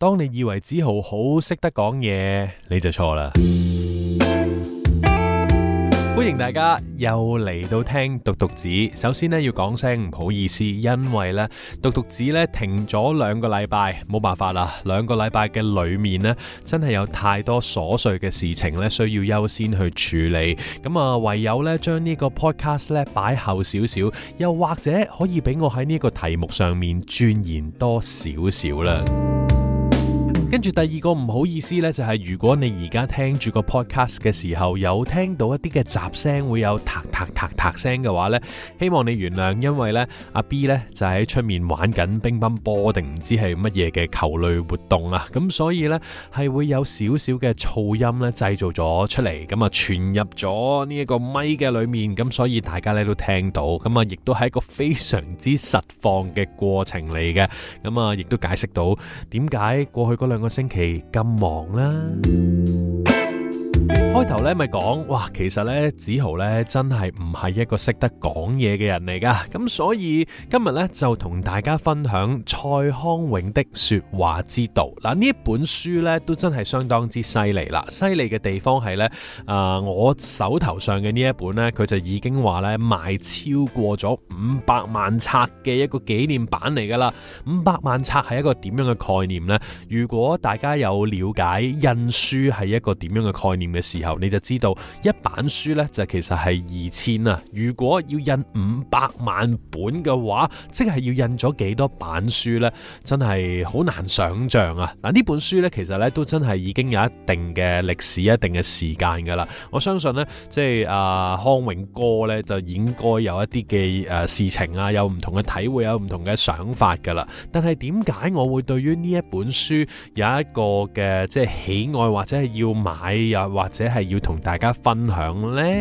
當你以為梓豪好識得講嘢，你就錯啦。歡迎大家又嚟到聽獨讀子。首先呢，要講聲唔好意思，因為呢獨讀子呢停咗2個禮拜，冇辦法啦。2個禮拜嘅裏面呢，真係有太多瑣碎嘅事情呢，需要優先去處理。咁啊，唯有呢將呢個 podcast 呢擺後少少，又或者可以俾我喺呢個題目上面鑽研多少少啦。跟住第2個唔好意思呢，就係如果你而家聽住個 podcast 嘅時候，有聽到一啲嘅雜聲，會有嗒嗒嗒嗒聲嘅話呢，希望你原諒，因為呢阿 B 呢就喺出面玩緊乒乓波定唔知係乜嘢嘅球類活動啊，咁所以呢係會有少少嘅噪音呢製造咗出嚟，咁啊傳入咗呢一個咪嘅裏面，咁所以大家呢都聽到，咁啊亦都係一個非常之實況嘅過程嚟嘅，咁啊亦都解釋到點解過去嗰2個星期咁忙啦。開頭咧咪講，哇，其實咧梓豪咧真係唔係一個識得講嘢嘅人嚟噶，咁所以今日咧就同大家分享蔡康永的說話之道。嗱，呢一本書咧都真係相當之犀利啦，犀利嘅地方係咧，我手頭上嘅呢一本咧，佢就已經話咧賣超過咗500萬冊嘅一個紀念版嚟噶啦。500萬冊係一個點樣嘅概念呢？如果大家有了解印書係一個點樣嘅概念嘅時候，你就知道一版書呢就其實係2000啊。如果要印500萬本嘅話，即係要印咗幾多版書呢？真係好難想象啊！嗱，呢本書呢，其實呢都真係已經有一定嘅歷史、一定嘅時間噶啦。我相信呢，即係康永哥呢，就應該有一啲嘅事情啊，有唔同嘅體會，有唔同嘅想法噶啦。但係點解我會對於呢一本書有一個嘅即係喜愛，或者係要買，又或者係要同大家分享呢？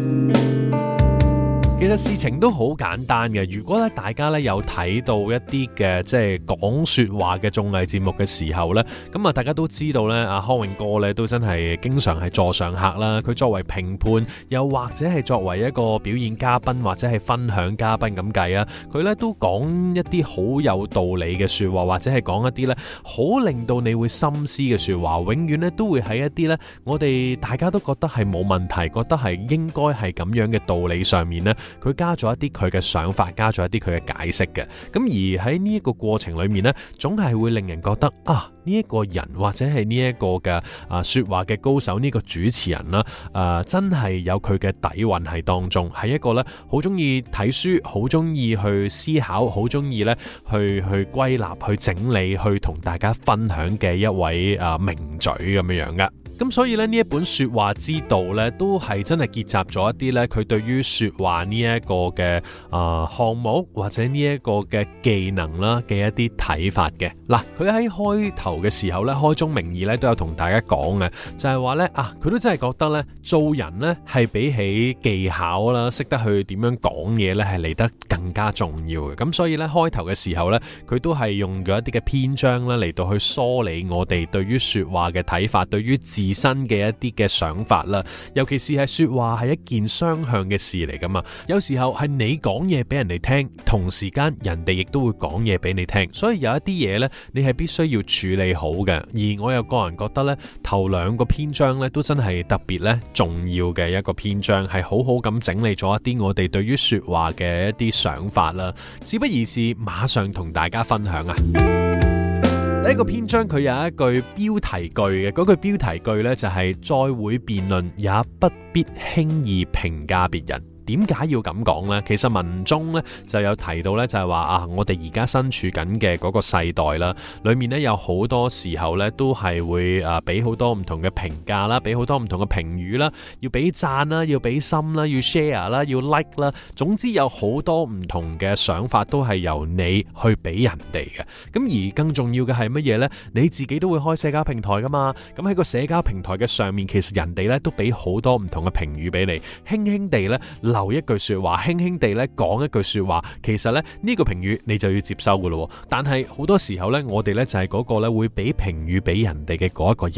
其實事情都好簡單嘅。如果咧大家咧有睇到一啲嘅即係講說話嘅綜藝節目嘅時候咧，咁啊大家都知道咧，阿康永哥咧都真係經常係座上客啦。佢作為評判，又或者係作為一個表演嘉賓或者係分享嘉賓咁計啊，佢咧都講一啲好有道理嘅說話，或者係講一啲咧好令到你會深思嘅說話。永遠咧都會喺一啲咧我哋大家都覺得係冇問題，覺得係應該係咁樣嘅道理上面咧，佢加咗一啲佢嘅想法，加咗一啲佢嘅解釋嘅。咁而喺呢一個過程裏面呢，總係會令人覺得啊，呢一個人或者係呢一個嘅說話嘅高手，呢個主持人啦，真係有佢嘅底蘊喺當中，係一個呢好中意睇書，好中意去思考，好中意呢去歸納、去整理、去同大家分享嘅一位名嘴咁樣樣嘅。咁所以咧呢一本說話之道咧，都係真係結集咗一啲咧佢對於說話呢一個嘅項目或者呢一個嘅技能啦嘅一啲睇法嘅。嗱，佢喺開頭嘅時候咧，開宗明義咧都有同大家講嘅，就係話咧佢都真係覺得咧做人咧係比起技巧啦，識得去點樣講嘢咧係嚟得更加重要嘅。咁所以咧開頭嘅時候咧，佢都係用咗一啲嘅篇章咧嚟到去梳理我哋對於說話嘅睇法，對於自身嘅一啲嘅想法啦，尤其是係說話係一件雙向嘅事嚟噶嘛，有時候係你講嘢俾人哋聽，同時間人哋亦都會講嘢俾你聽，所以有一啲嘢呢，你係必須要處理好嘅。而我又個人覺得呢，頭2個篇章呢，都真係特別呢重要嘅一個篇章，係好好咁整理咗一啲我哋對於說話嘅一啲想法啦。事不宜遲，馬上同大家分享啊！第一個篇章佢有一句標題句嘅，嗰句標題句呢，就係再會辯論，也不必輕易評價別人。點解要咁講呢？其實文中咧就有提到咧，就係話我哋而家身處緊嘅嗰個世代啦，裏面咧有好多時候咧都係會俾好多唔同嘅評價啦，俾好多唔同嘅評語啦，要俾讚啦，要俾心啦，要 share 啦，要 like 啦，總之有好多唔同嘅想法都係由你去俾人哋嘅。咁而更重要嘅係乜嘢呢？你自己都會開社交平台噶嘛，咁喺個社交平台嘅上面，其實人哋咧都俾好多唔同嘅評語俾你，輕輕地咧留一句說話，輕輕地咧講一句說話，其實咧呢個評語你就要接收噶咯。但係好多時候咧，我哋咧就係嗰個咧會俾評語俾人哋嘅嗰一個人啊。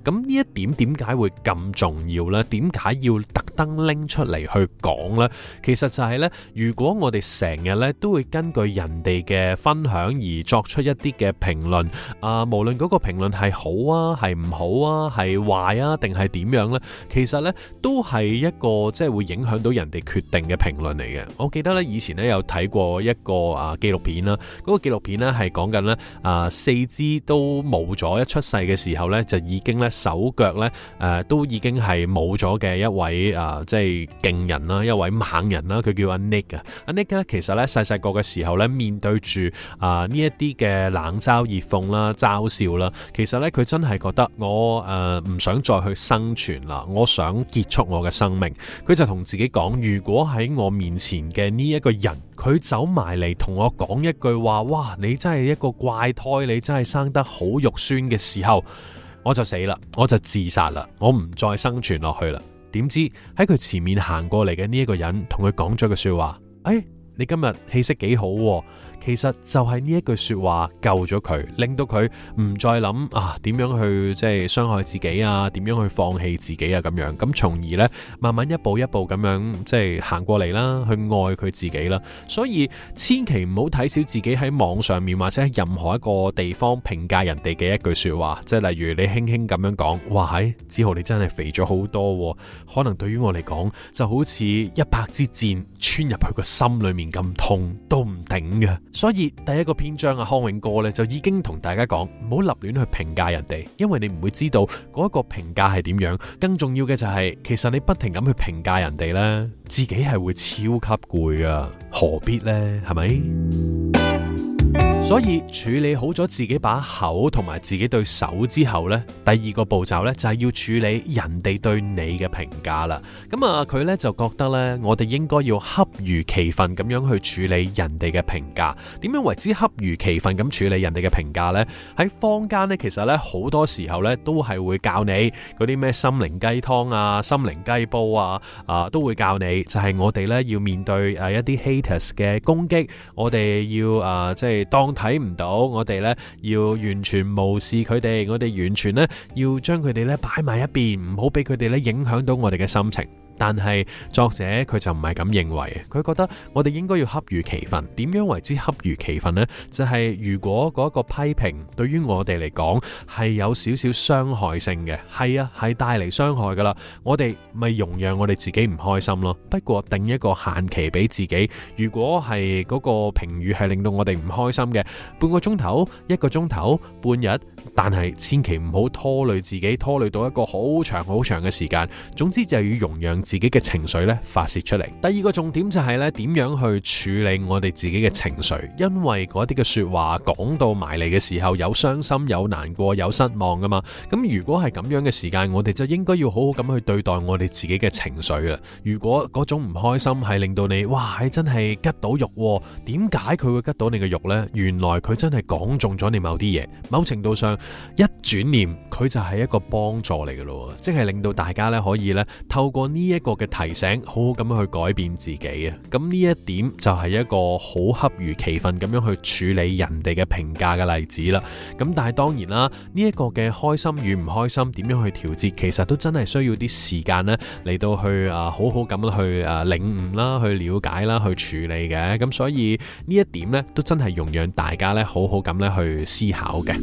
咁呢一點點解會咁重要呢？點解要特登拎出嚟去講呢？其實就係呢，如果我哋成日呢都會根據人哋嘅分享而作出一啲嘅評論，無論嗰個評論係好啊，係唔好啊，係壞啊，定係點樣呢？其實呢都係一個即係會影響到人哋決定嘅評論嚟嘅。我記得呢以前呢有睇過一個紀錄片啦，嗰個紀錄片呢係講緊呢四肢都冇咗，一出世嘅時候呢就已經呢手腳呢都已經係冇咗嘅一位即係勁人啦，一位猛人啦，佢叫阿 Nick 啊。阿 Nick 呢其實呢細細個嘅時候呢，面對住呢一啲嘅冷嘲熱諷啦、嘲笑啦，其實呢佢真係覺得我唔想再去生存啦，我想結束我嘅生命。佢就同自己講，如果喺我面前嘅呢一個人，佢走埋嚟同我講一句話，哇，你真係一個怪胎，你真係生得好肉酸嘅時候，我就死啦，我就自殺啦，我唔再生存落去啦。點知喺佢前面行過嚟嘅呢一個人同佢講咗句說話，你今日氣色幾好喎。其實就係呢一句說話救咗佢，令到佢唔再諗點樣去即係傷害自己啊，點樣去放棄自己啊咁樣，咁從而呢，慢慢一步一步咁樣即係行過嚟啦，去愛佢自己啦。所以千祈唔好睇小自己喺網上面或者喺任何一個地方評價人哋嘅一句說話，即係例如你輕輕咁樣講，哇梓豪你真係肥咗好多喎，可能對於我嚟講就好似100支箭穿入去個心裏面咁痛都唔頂嘅。所以第一個篇章康永哥咧就已經同大家講，唔好立亂去評價人哋，因為你唔會知道嗰一個評價係點樣。更重要嘅就係，其實你不停咁去評價人哋咧，自己係會超級攰噶，何必呢？係咪？所以處理好咗自己把口同埋自己對手之後呢，第二個步驟呢，就係要處理人哋對你嘅評價啦。咁佢呢，就覺得呢，我哋應該要恰如其分咁樣去處理人哋嘅評價。點樣為之恰如其分咁處理人哋嘅評價呢？喺坊間呢，其實呢，好多時候呢，都係會教你嗰啲咩心靈雞湯啊、心靈雞煲啊，都會教你就係我哋呢，要面對一啲 haters 嘅攻擊，我哋要即係當睇唔到，我哋呢要完全無視佢哋，我哋完全呢要將佢哋呢擺埋一邊，唔好俾佢哋呢影響到我哋嘅心情。但係作者佢就唔係咁認為，佢覺得我哋應該要恰如其分。點樣為之恰如其分呢？就係如果嗰個批評對於我哋嚟講係有少少傷害性嘅，係帶嚟傷害噶啦，我哋咪容讓我哋自己唔開心咯。不過定一個限期俾自己，如果係嗰個評語係令到我哋唔開心嘅，半個鐘頭、1個鐘頭、半日，但係千祈唔好拖累自己，拖累到一個好長好長嘅時間。總之就要容讓自己嘅情緒咧發洩出嚟。第二個重點就係咧，點樣去處理我哋自己嘅情緒，因為嗰啲嘅說話講到埋嚟嘅時候，有傷心、有難過、有失望噶嘛。咁如果係咁樣嘅時間，我哋就應該要好好咁去對待我哋自己嘅情緒啦。如果嗰種唔開心係令到你哇，真係吉到肉，點解佢會吉到你嘅肉呢？原來佢真係講中咗你某啲嘢，某程度上一轉念佢就係一個幫助嚟嘅咯，即係令到大家咧可以咧透過呢一個嘅提醒，好好咁樣去改變自己啊！咁呢一點就係一個好恰如其分咁樣去處理人哋嘅評價嘅例子啦。咁但係當然啦，呢一個嘅開心與唔開心點樣去調節，其實都真係需要啲時間咧嚟到去好好咁去領悟啦、去了解啦、去處理嘅。咁所以呢一點咧都真係容讓大家咧好好咁咧去思考嘅。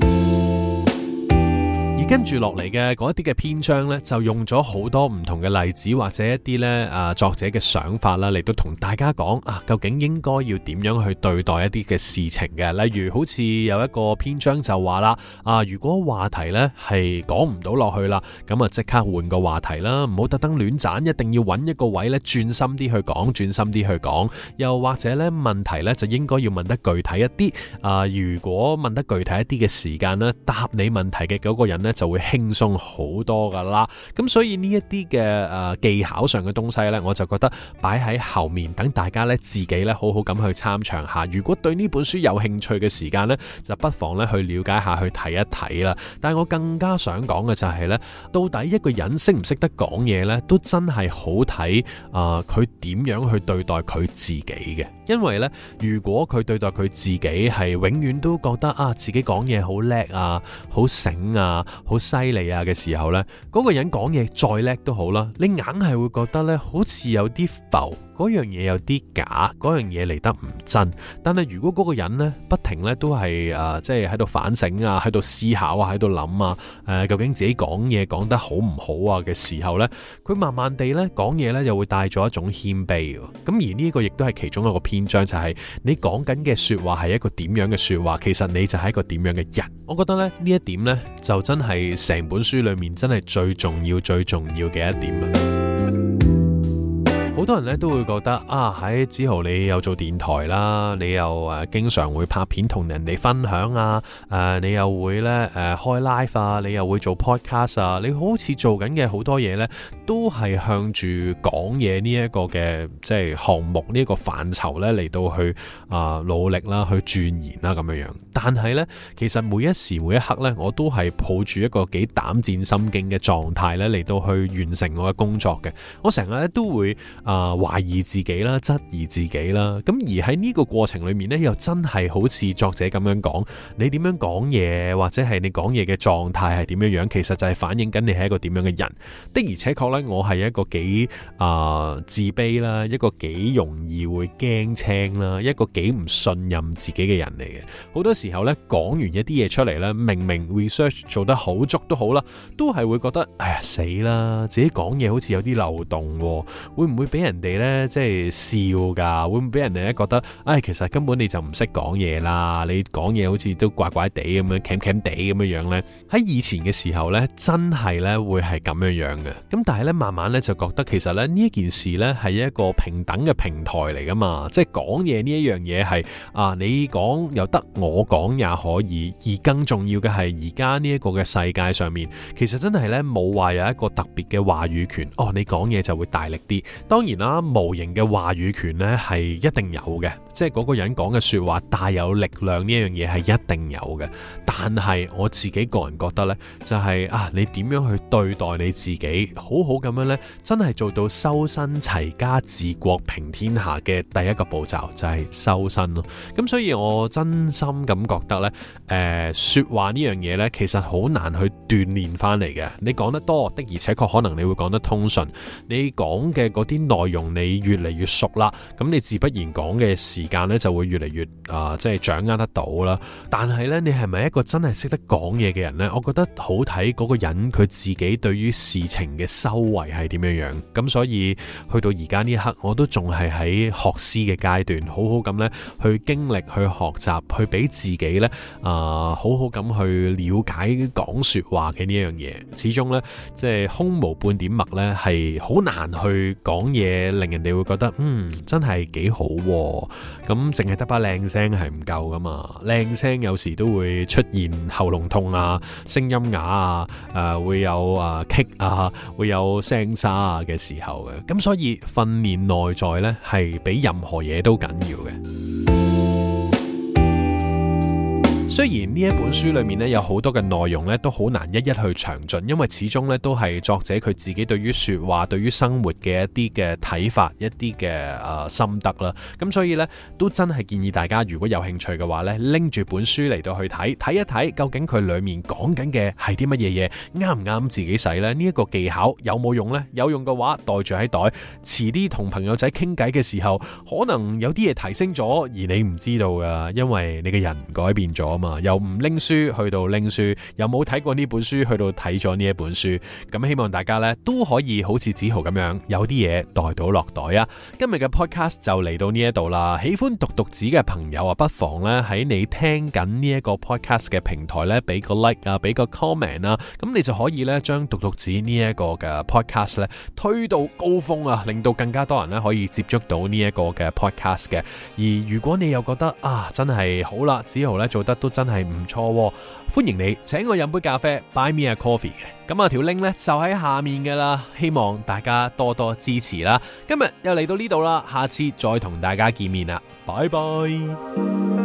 跟住落嚟嘅嗰一啲嘅篇章呢，就用咗好多唔同嘅例子或者一啲呢作者嘅想法啦，嚟到同大家講究竟應該要點樣去對待一啲嘅事情嘅。例如好似有一個篇章就話啦，如果話題呢係講唔到落去啦，咁即刻換個話題啦，唔好特登亂斬，一定要揾一個位呢轉心啲去講，轉心啲去講。又或者呢問題呢就應該要問得具體一啲。如果問得具體一啲嘅時間呢，答你問題嘅嗰個人呢就會輕鬆好多噶啦。咁所以呢一啲嘅技巧上嘅東西呢，我就覺得擺喺後面，等大家呢自己呢好好咁去參詳下。如果對呢本書有興趣嘅時間呢，就不妨呢去了解下，去睇一睇啦。但係我更加想講嘅就係呢，到底一個人識唔識得講嘢呢，都真係好睇佢點樣去對待佢自己嘅。因為呢，如果佢對待佢自己係永遠都覺得自己講嘢好叻好醒好犀利啊嘅時候呢，嗰個人講嘢再叻都好啦，你硬係會覺得呢好似有啲浮，嗰樣嘢有啲假，嗰樣嘢嚟得唔真。但係如果嗰個人呢不停呢都係即係喺度反省啊，喺度思考啊，喺度諗啊，究竟自己講嘢講得好唔好啊嘅時候呢，佢慢慢地呢講嘢呢又會帶咗一種謙卑。咁而呢個亦都係其中一個篇章，就係你講緊嘅說話係一個點樣嘅說話，其實你就係一個點樣嘅人。我覺得呢一點呢，就真係成本書裏面真係最重要嘅一點啊。好多人咧都會覺得喺梓豪你又做電台啦，你又經常會拍片同人哋分享啊，你又會咧開 live 啊，你又會做 podcast 啊，你好似做緊嘅好多嘢咧，都係向住講嘢呢一個嘅即係項目呢一個範疇咧嚟到去努力啦，去鑽研啦咁樣樣。但係咧，其實每一時每一刻咧，我都係抱住一個幾膽戰心驚嘅狀態咧嚟到去完成我嘅工作嘅。我成日咧都會懷疑自己啦，質疑自己啦，咁而喺呢個過程裏面呢，又真係好似作者咁樣講，你點樣講嘢，或者係你講嘢嘅狀態係點樣樣，其實就係反映緊你係一個點樣嘅人。的而且確呢，我係一個幾自卑啦，一個幾容易會驚青啦，一個幾唔信任自己嘅人嚟嘅。好多時候呢，講完一啲嘢出嚟呢，明明 research 做得好足都好啦，都係會覺得哎呀死啦，自己講嘢好似有啲漏洞，會唔會俾人哋咧即係笑噶？會唔會俾人哋咧覺得其實根本你就唔識講嘢啦，你講嘢好似都怪怪地咁樣鉗鉗地咁樣樣咧。喺以前嘅時候咧，真係咧會係咁樣樣嘅。咁但係咧慢慢咧就覺得其實咧呢一件事咧係一個平等嘅平台嚟噶嘛，即係講嘢呢一樣嘢係你講又得，我講也可以。而更重要嘅係而家呢一個嘅世界上面，其實真係咧冇話有一個特別嘅話語權。你講嘢就會大力啲。當然啦，無形嘅話語權咧係一定有嘅，即係嗰個人講嘅說話帶有力量呢樣嘢係一定有嘅。但係我自己個人覺得咧，就係你點樣去對待你自己，好好咁樣咧，真係做到修身齊家治國平天下嘅第一個步驟就係修身咯。咁所以我真心咁覺得咧，說話呢樣嘢咧，其實好難去鍛煉翻嚟嘅。你講得多的，而且確可能你會講得通順，你講嘅嗰啲內容你越嚟越熟啦，咁你自不然講嘅時間咧就會越嚟越即係掌握得到啦。但係咧，你係咪一個真係識得講嘢嘅人呢？我覺得好睇嗰個人佢自己對於事情嘅修為係點樣樣。咁所以去到而家呢一刻，我都仲係喺學師嘅階段，好好咁咧去經歷、去學習、去俾自己咧好好咁去了解講說話嘅呢樣嘢。始終咧即係空無半點墨咧係好難去講嘢，令人哋會覺得真係幾好喎。咁淨係得把靚聲係唔夠噶嘛，靚聲有時都會出現喉嚨痛啊、聲音啞啊、會有棘會有聲沙嘅時候嘅。咁所以訓練內在呢係比任何嘢都緊要嘅。雖然呢一本書裏面咧有好多嘅內容咧都好難一一去詳盡，因為始終咧都係作者佢自己對於說話、對於生活嘅一啲嘅睇法、一啲嘅心得啦。咁所以咧都真係建議大家如果有興趣嘅話咧，拎住本書嚟到去睇一睇，究竟佢裏面講緊嘅係啲乜嘢嘢，啱唔啱自己使咧？呢一個技巧有冇用呢？有用嘅話袋住喺袋，遲啲同朋友仔傾偈嘅時候，可能有啲嘢提升咗，而你唔知道噶，因為你嘅人改變咗嘛。由唔拎書去到拎書，又冇睇過呢本書去到睇咗呢一本書，咁希望大家呢都可以好似梓豪咁樣，有啲嘢袋到落袋啊！今日嘅 podcast 就嚟到呢一度啦，喜歡獨讀子嘅朋友啊，不妨呢喺你聽緊呢一個 podcast 嘅平台呢，俾個 like 啊，俾個 comment 啊，咁你就可以呢將獨讀子呢一個嘅 podcast 呢推到高峰啊，令到更加多人呢可以接觸到呢一個嘅 podcast 嘅。而如果你又覺得真係好啦，梓豪呢做得都真係唔錯，歡迎你請我飲杯咖啡 ，Buy me a coffee 嘅。咁條 link 呢就喺下面噶啦，希望大家多多支持啦。今日又嚟到呢度啦，下次再同大家見面啦，拜拜。